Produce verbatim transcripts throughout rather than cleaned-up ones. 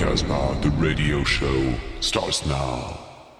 Casbah, the radio show starts now.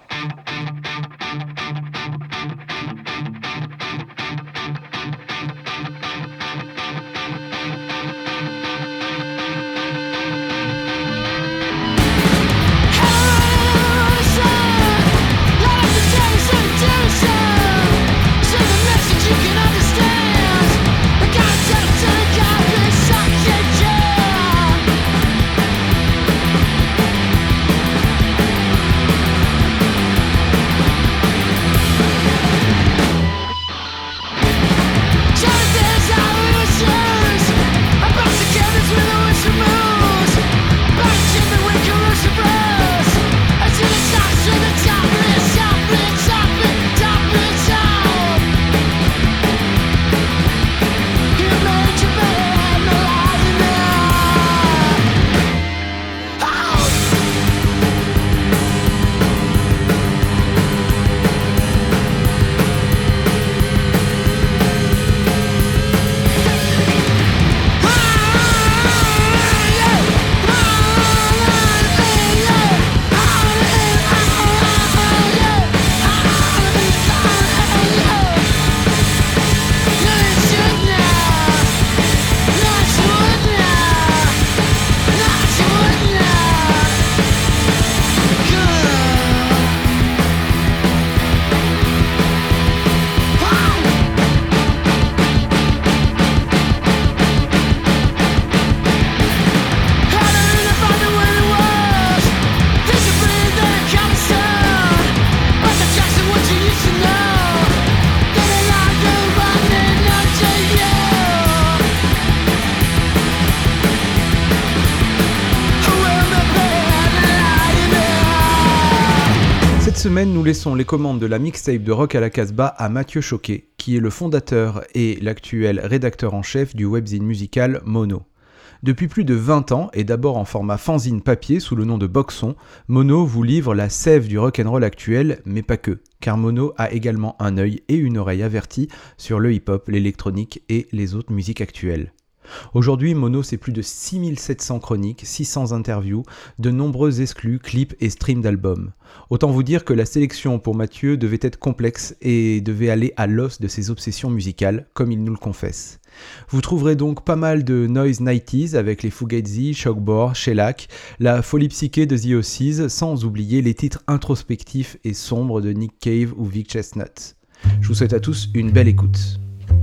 Cette semaine, nous laissons les commandes de la mixtape de Rock à la Casbah à Mathieu Choquet, qui est le fondateur et l'actuel rédacteur en chef du webzine musical Mono. Depuis plus de vingt ans, et d'abord en format fanzine papier sous le nom de Boxon, Mono vous livre la sève du rock'n'roll actuel, mais pas que, car Mono a également un œil et une oreille avertis sur le hip-hop, l'électronique et les autres musiques actuelles. Aujourd'hui, Mono, c'est plus de six mille sept cents chroniques, six cents interviews, de nombreux exclus, clips et streams d'albums. Autant vous dire que la sélection pour Mathieu devait être complexe et devait aller à l'os de ses obsessions musicales, comme il nous le confesse. Vous trouverez donc pas mal de noise nineties avec les Fugazi, Shockbore, Shellac, la folie psyché de The Ossies, sans oublier les titres introspectifs et sombres de Nick Cave ou Vic Chestnut. Je vous souhaite à tous une belle écoute.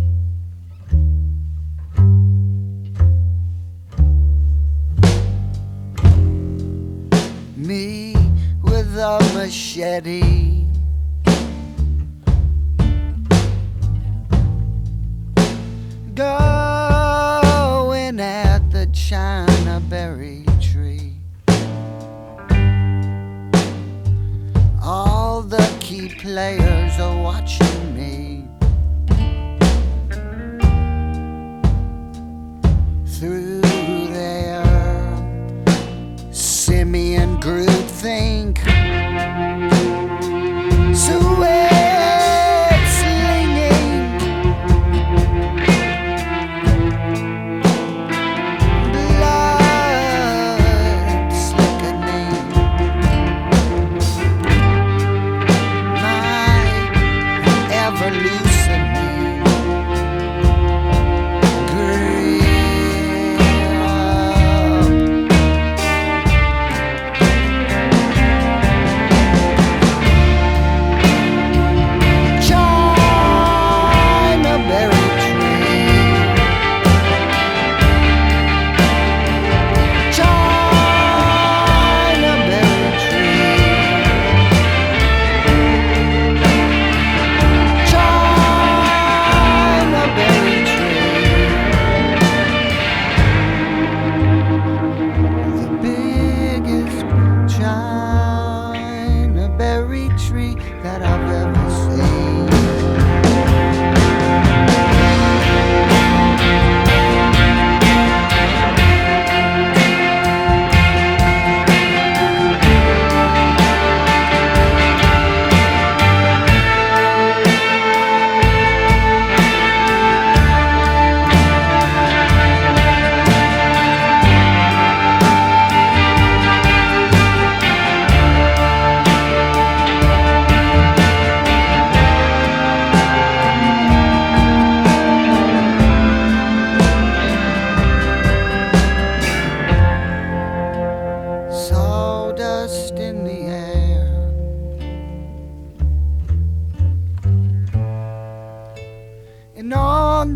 Me with a machete, going at the China berry tree. All the key players are watching me through their simian groupthink. Sweat slinging, blood slickening. My ever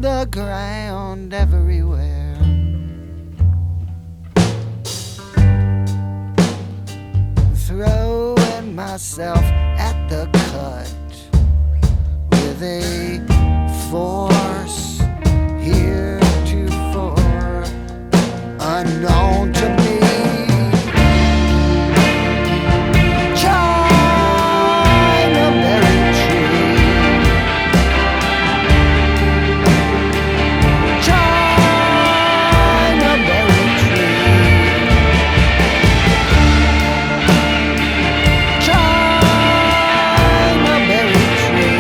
the ground everywhere. Throwing myself at the cut with a force heretofore unknown to me. China berry tree, China berry tree, China berry tree.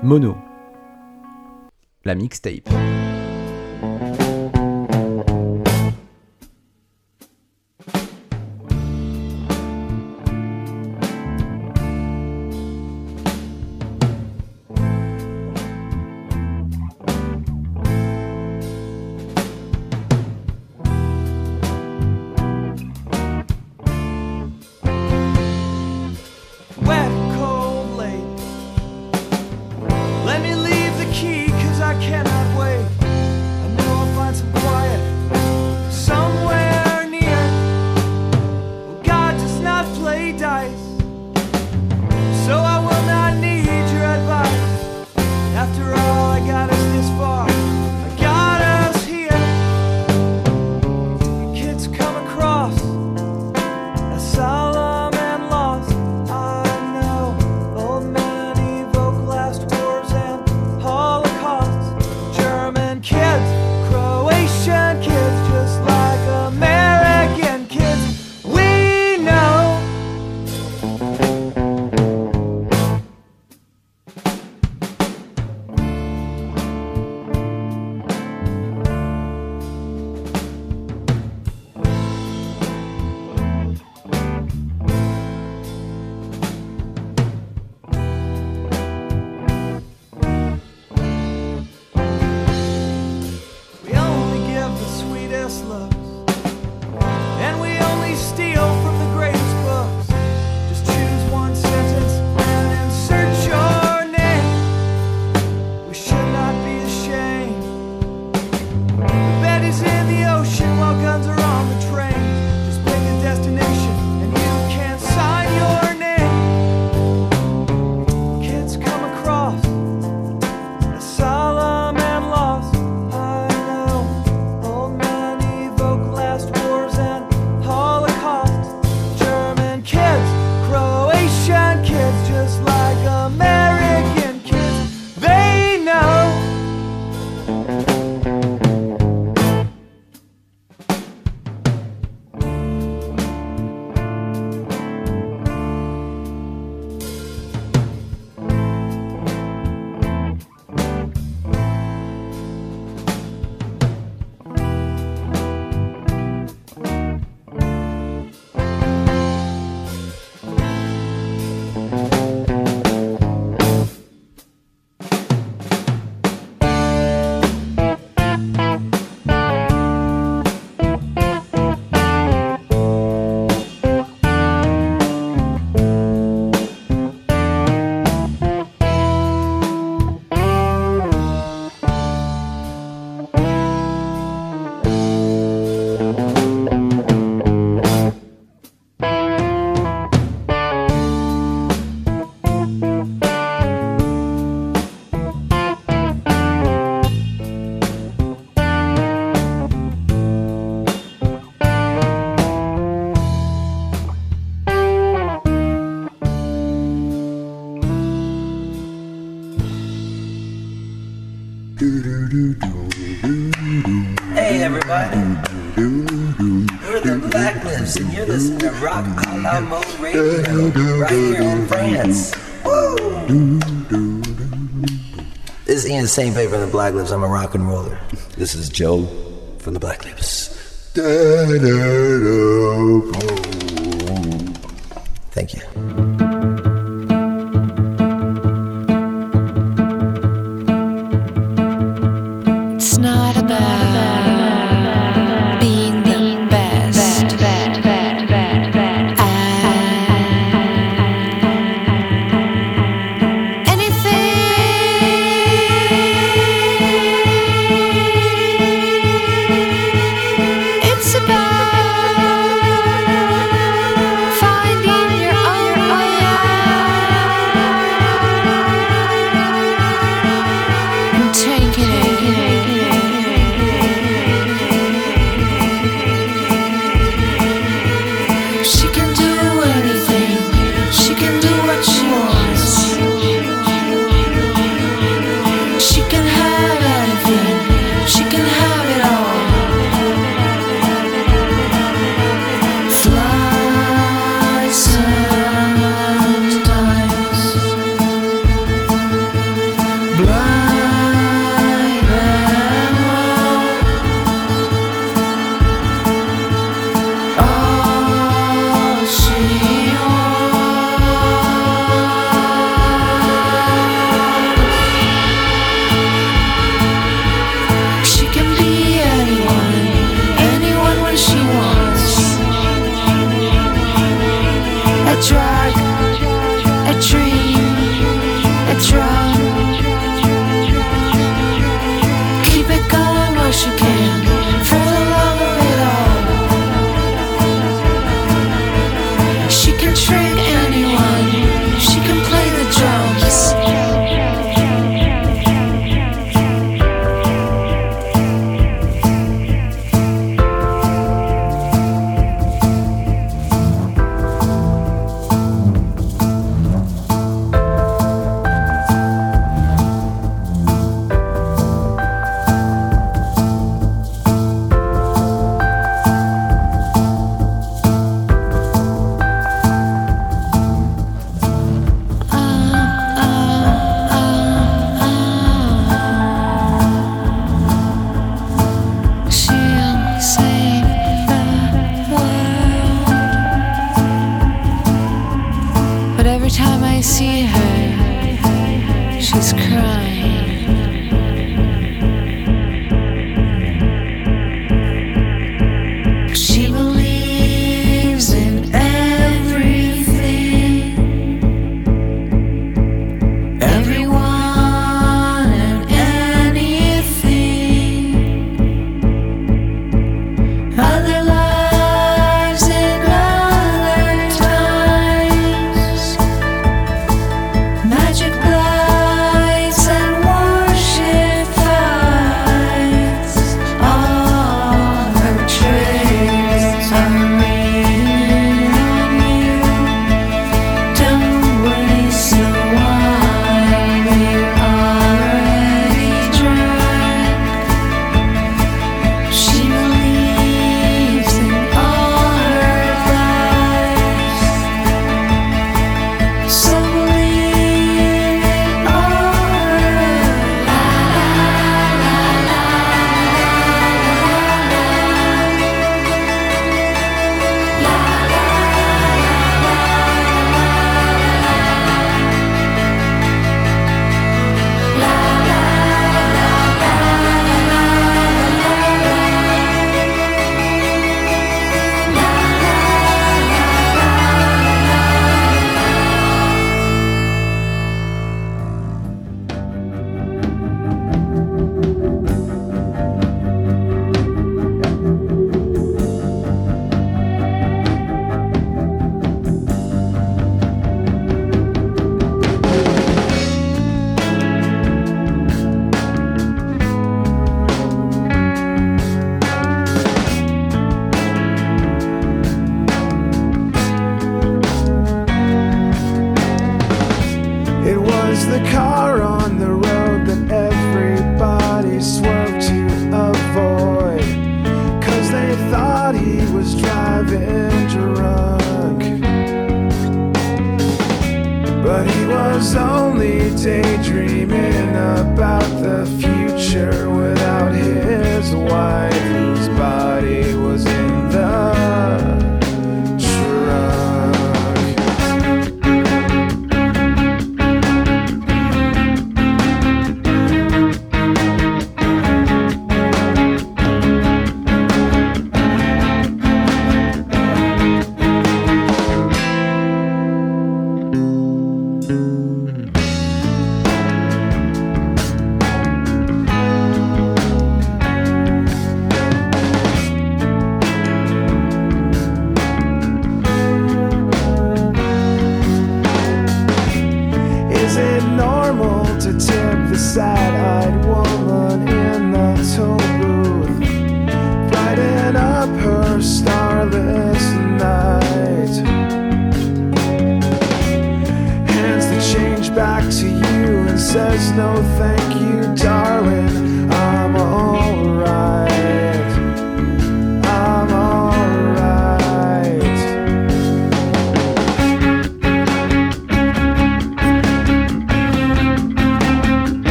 Mono, la mixtape. Hey everybody, we're the Blacklifts and you're listening to Rock a la Mode Radio right here in France. Woo! This is Ian Saintpay from the Blacklifts. I'm a rock and roller. This is Joe from the Blacklifts. Thank you. It's not about being the best. Anything. It's about finding your own way.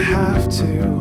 have to.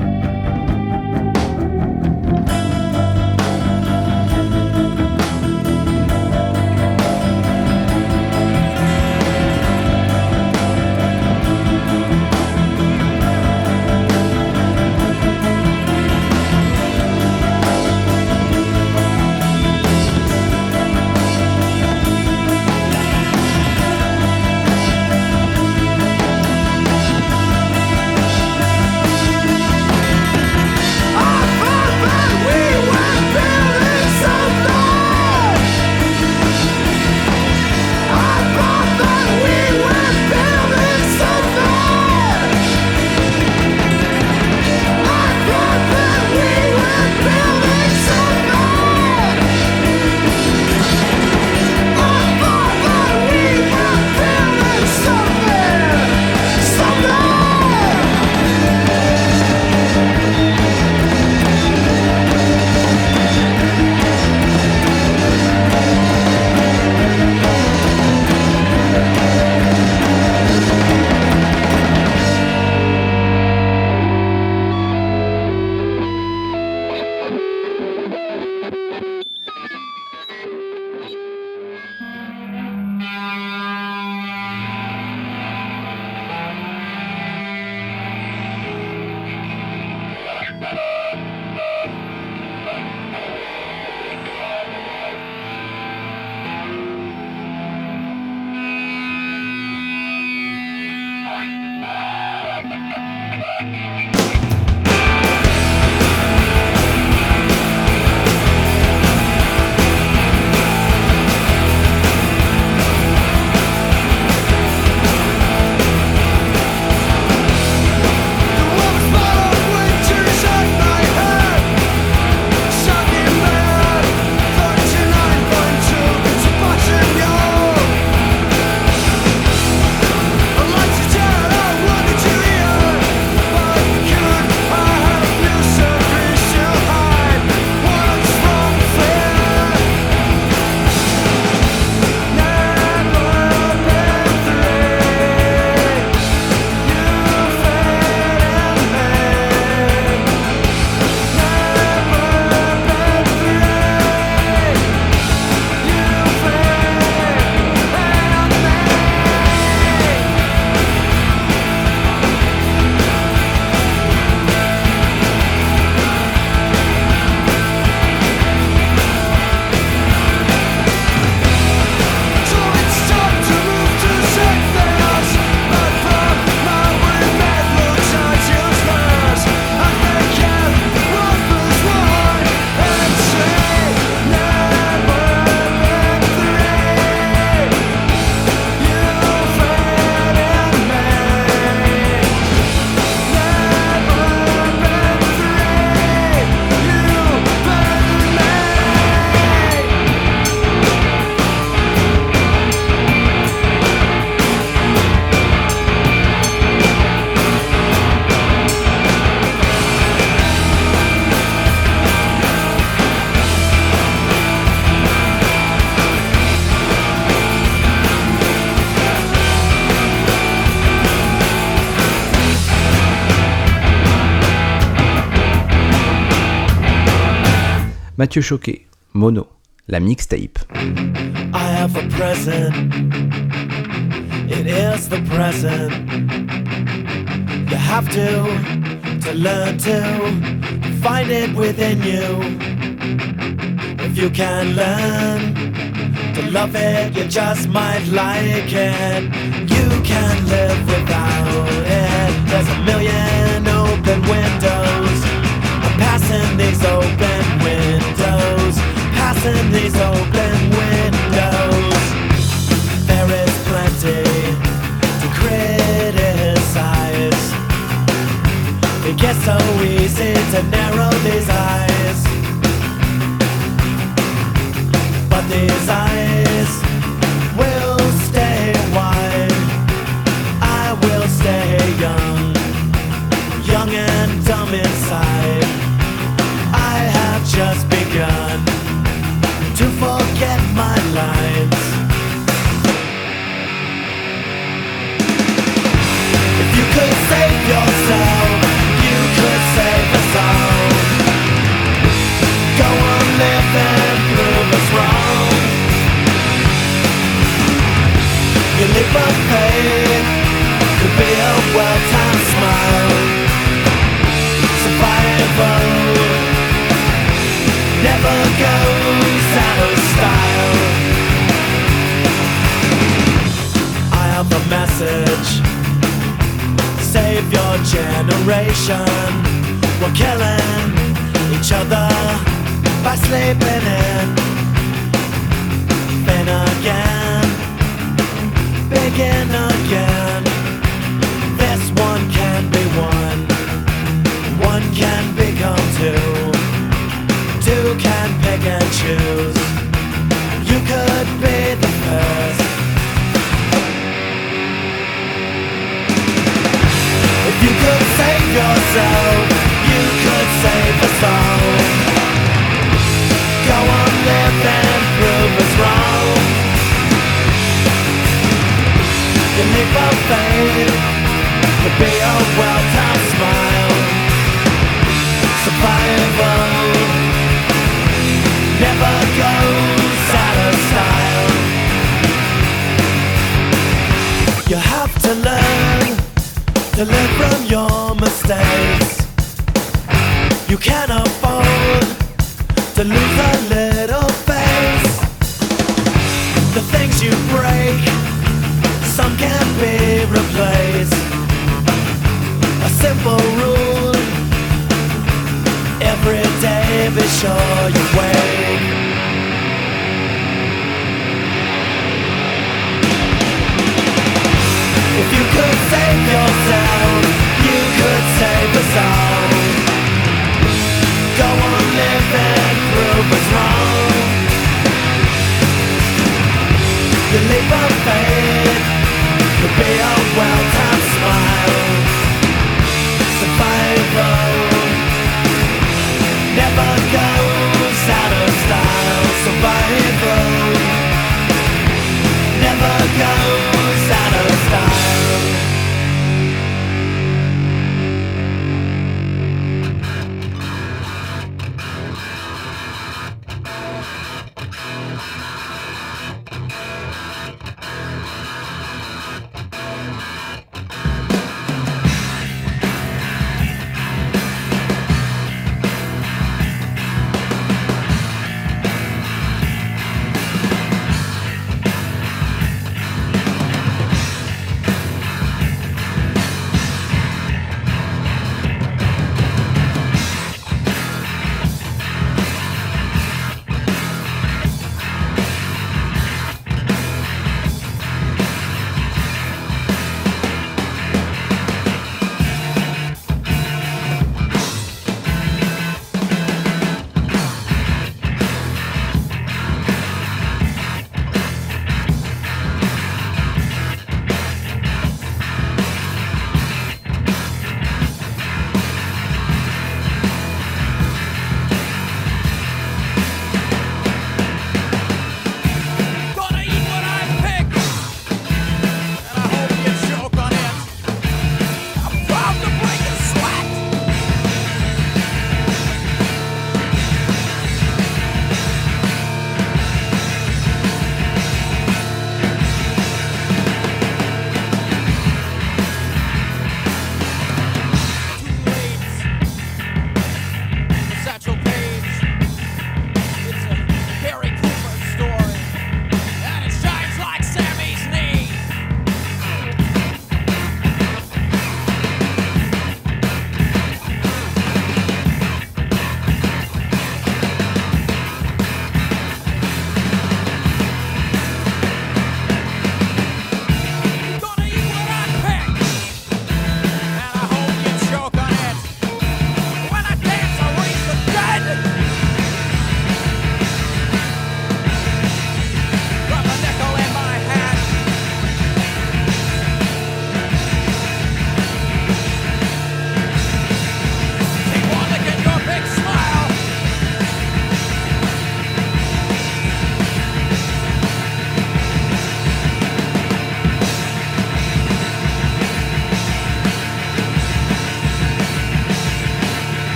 Mathieu Choquet, Mono, la mixtape. I have a present. It is the present. You have to, to learn to find it within you. If you can learn to love it, you just might like it. You can live without it. There's a million open windows. I'm passing these open windows. Passing these open windows. There is plenty to criticize. It gets so easy to narrow these eyes. But these eyes will stay wide. I will stay young, young and dumb inside. I have just begun to forget my lines. If you could save yourself, Survival never goes out of style. I have a message. Save your generation. We're killing each other by sleeping in. Then again, begin again. This one can be one. One can become two. Two can pick and choose. You could be the first. If you could save yourself, you could save us all. Go on, live and prove us wrong. You leap of faith could be a well-timed smile. Survival never goes out of style. You have to learn to learn from your mistakes. You can't afford to lose a little face. The things you break, some can't be replaced. A simple rule: every day be sure you wake. If you could save yourself, you could save us all. Go on, live and prove us wrong. The leap of faith could be a well-timed smile. Survival never goes out of style. Survival never goes out of style.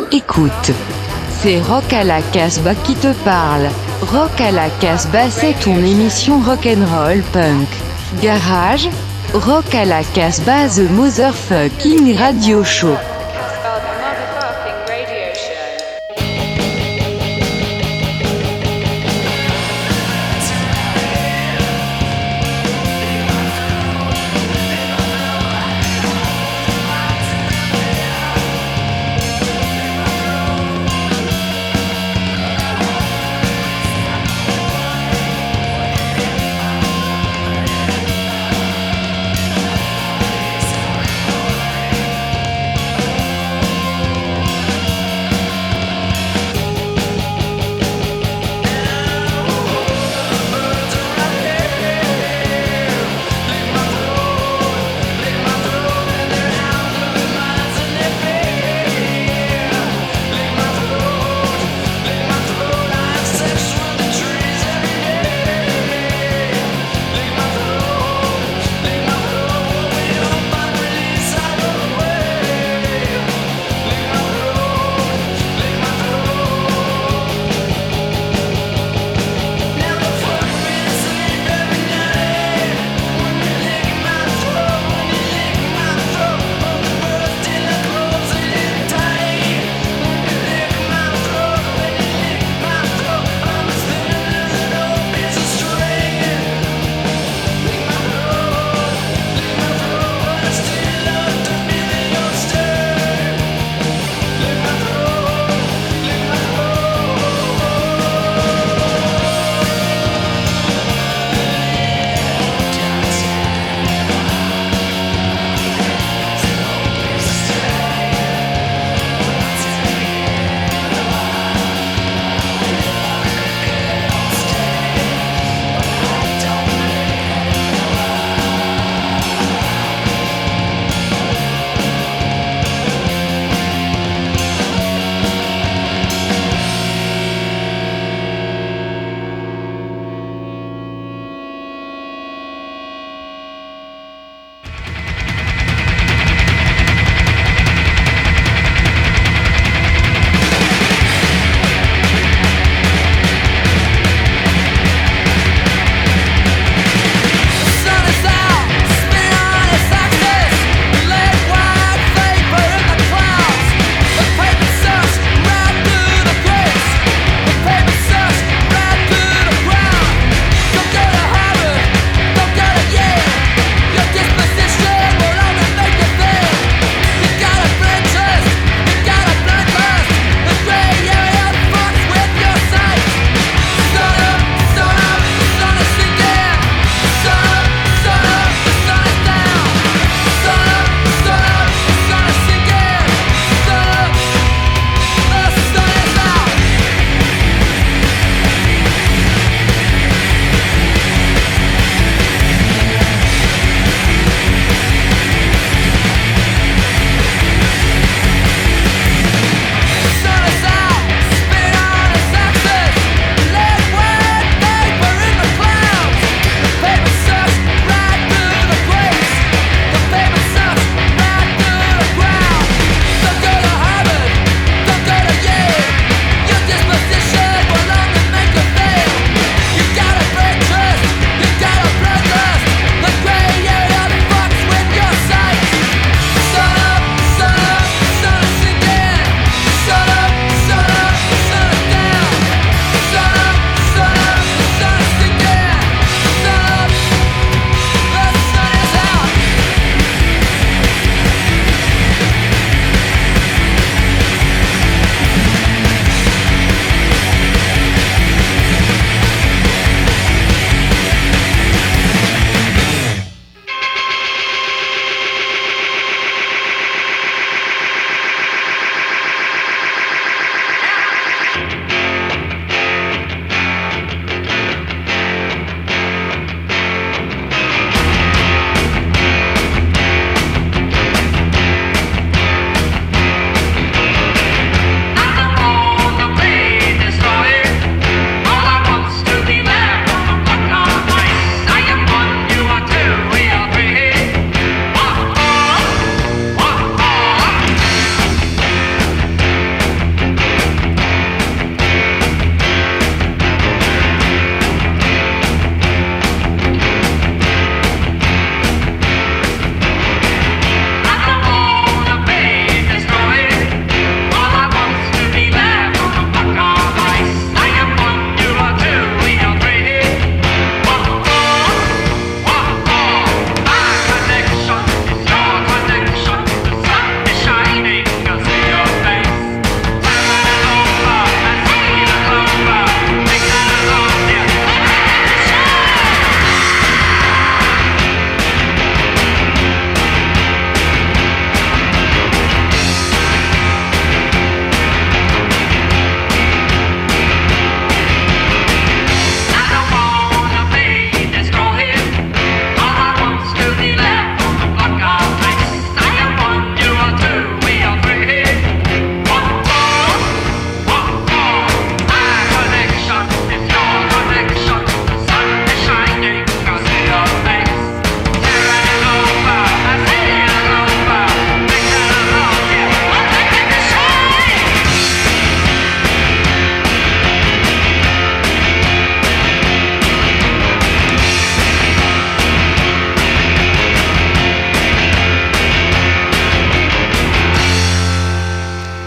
écoute. C'est Rock à la Casbah qui te parle. Rock à la Casbah, c'est ton émission rock'n'roll punk. Garage, Rock à la Casbah, the motherfucking radio show.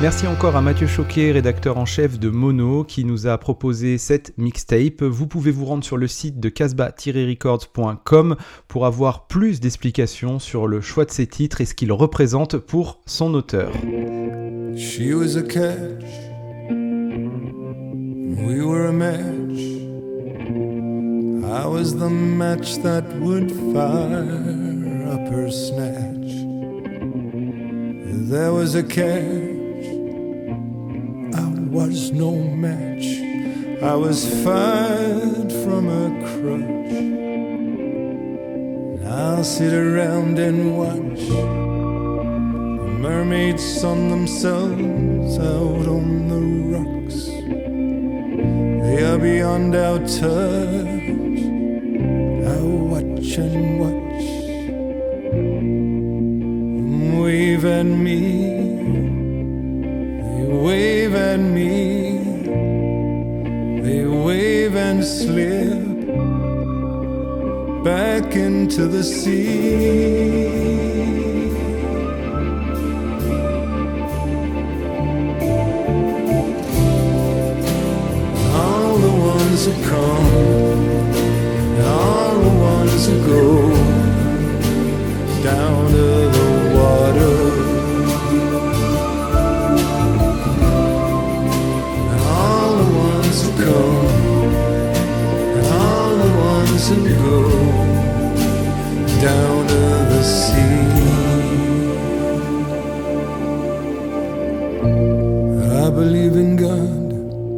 Merci encore à Mathieu Choquet, rédacteur en chef de Mono, qui nous a proposé cette mixtape. Vous pouvez vous rendre sur le site de casbah tiret records point com pour avoir plus d'explications sur le choix de ces titres et ce qu'ils représentent pour son auteur. She was a catch, we were a match. I was the match that would fire up her snatch. There was a catch, I was no match. I was fired from a crutch. Now sit around and watch the mermaids sun themselves out on the rocks. They are beyond our touch. I watch and watch. Wave at me, they wave at me, they wave and slip back into the sea. All the ones who come, and all the ones who go down to the water, and all the ones who come, and all the ones who go down to the sea. I believe in God,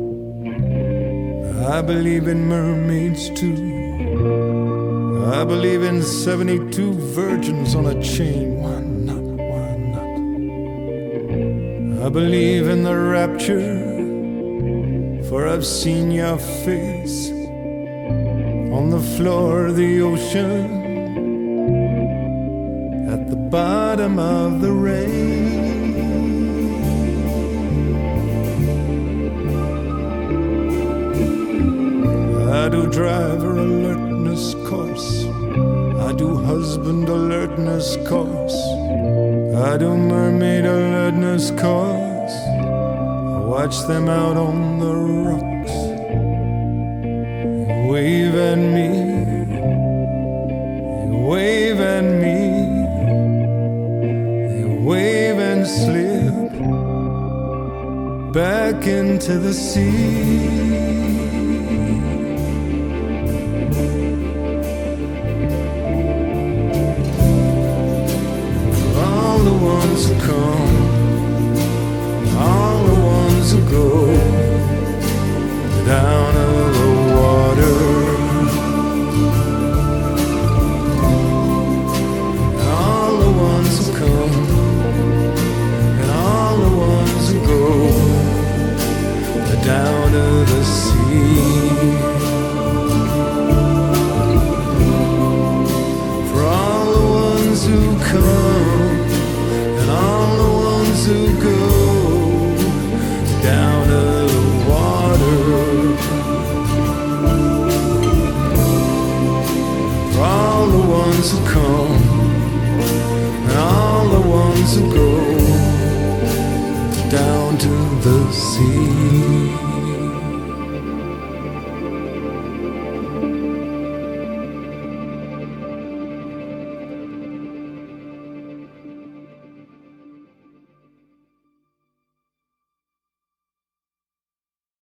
I believe in mermaids too. I believe in seventy-two virgins on a chain. Why not? Why not? I believe in the rapture, for I've seen your face on the floor of the ocean, at the bottom of the rain. I do driver alertness course, I do husband alertness course, I do mermaid alertness course. I watch them out on the rocks, they wave at me, they wave at me, they wave and slip back into the sea. Who come, all the ones who go down to the water, and all the ones who come, and all the ones who go down to the sea. For all the ones who come, all the ones who go down to the water, for all the ones who come, and all the ones who go down to the sea.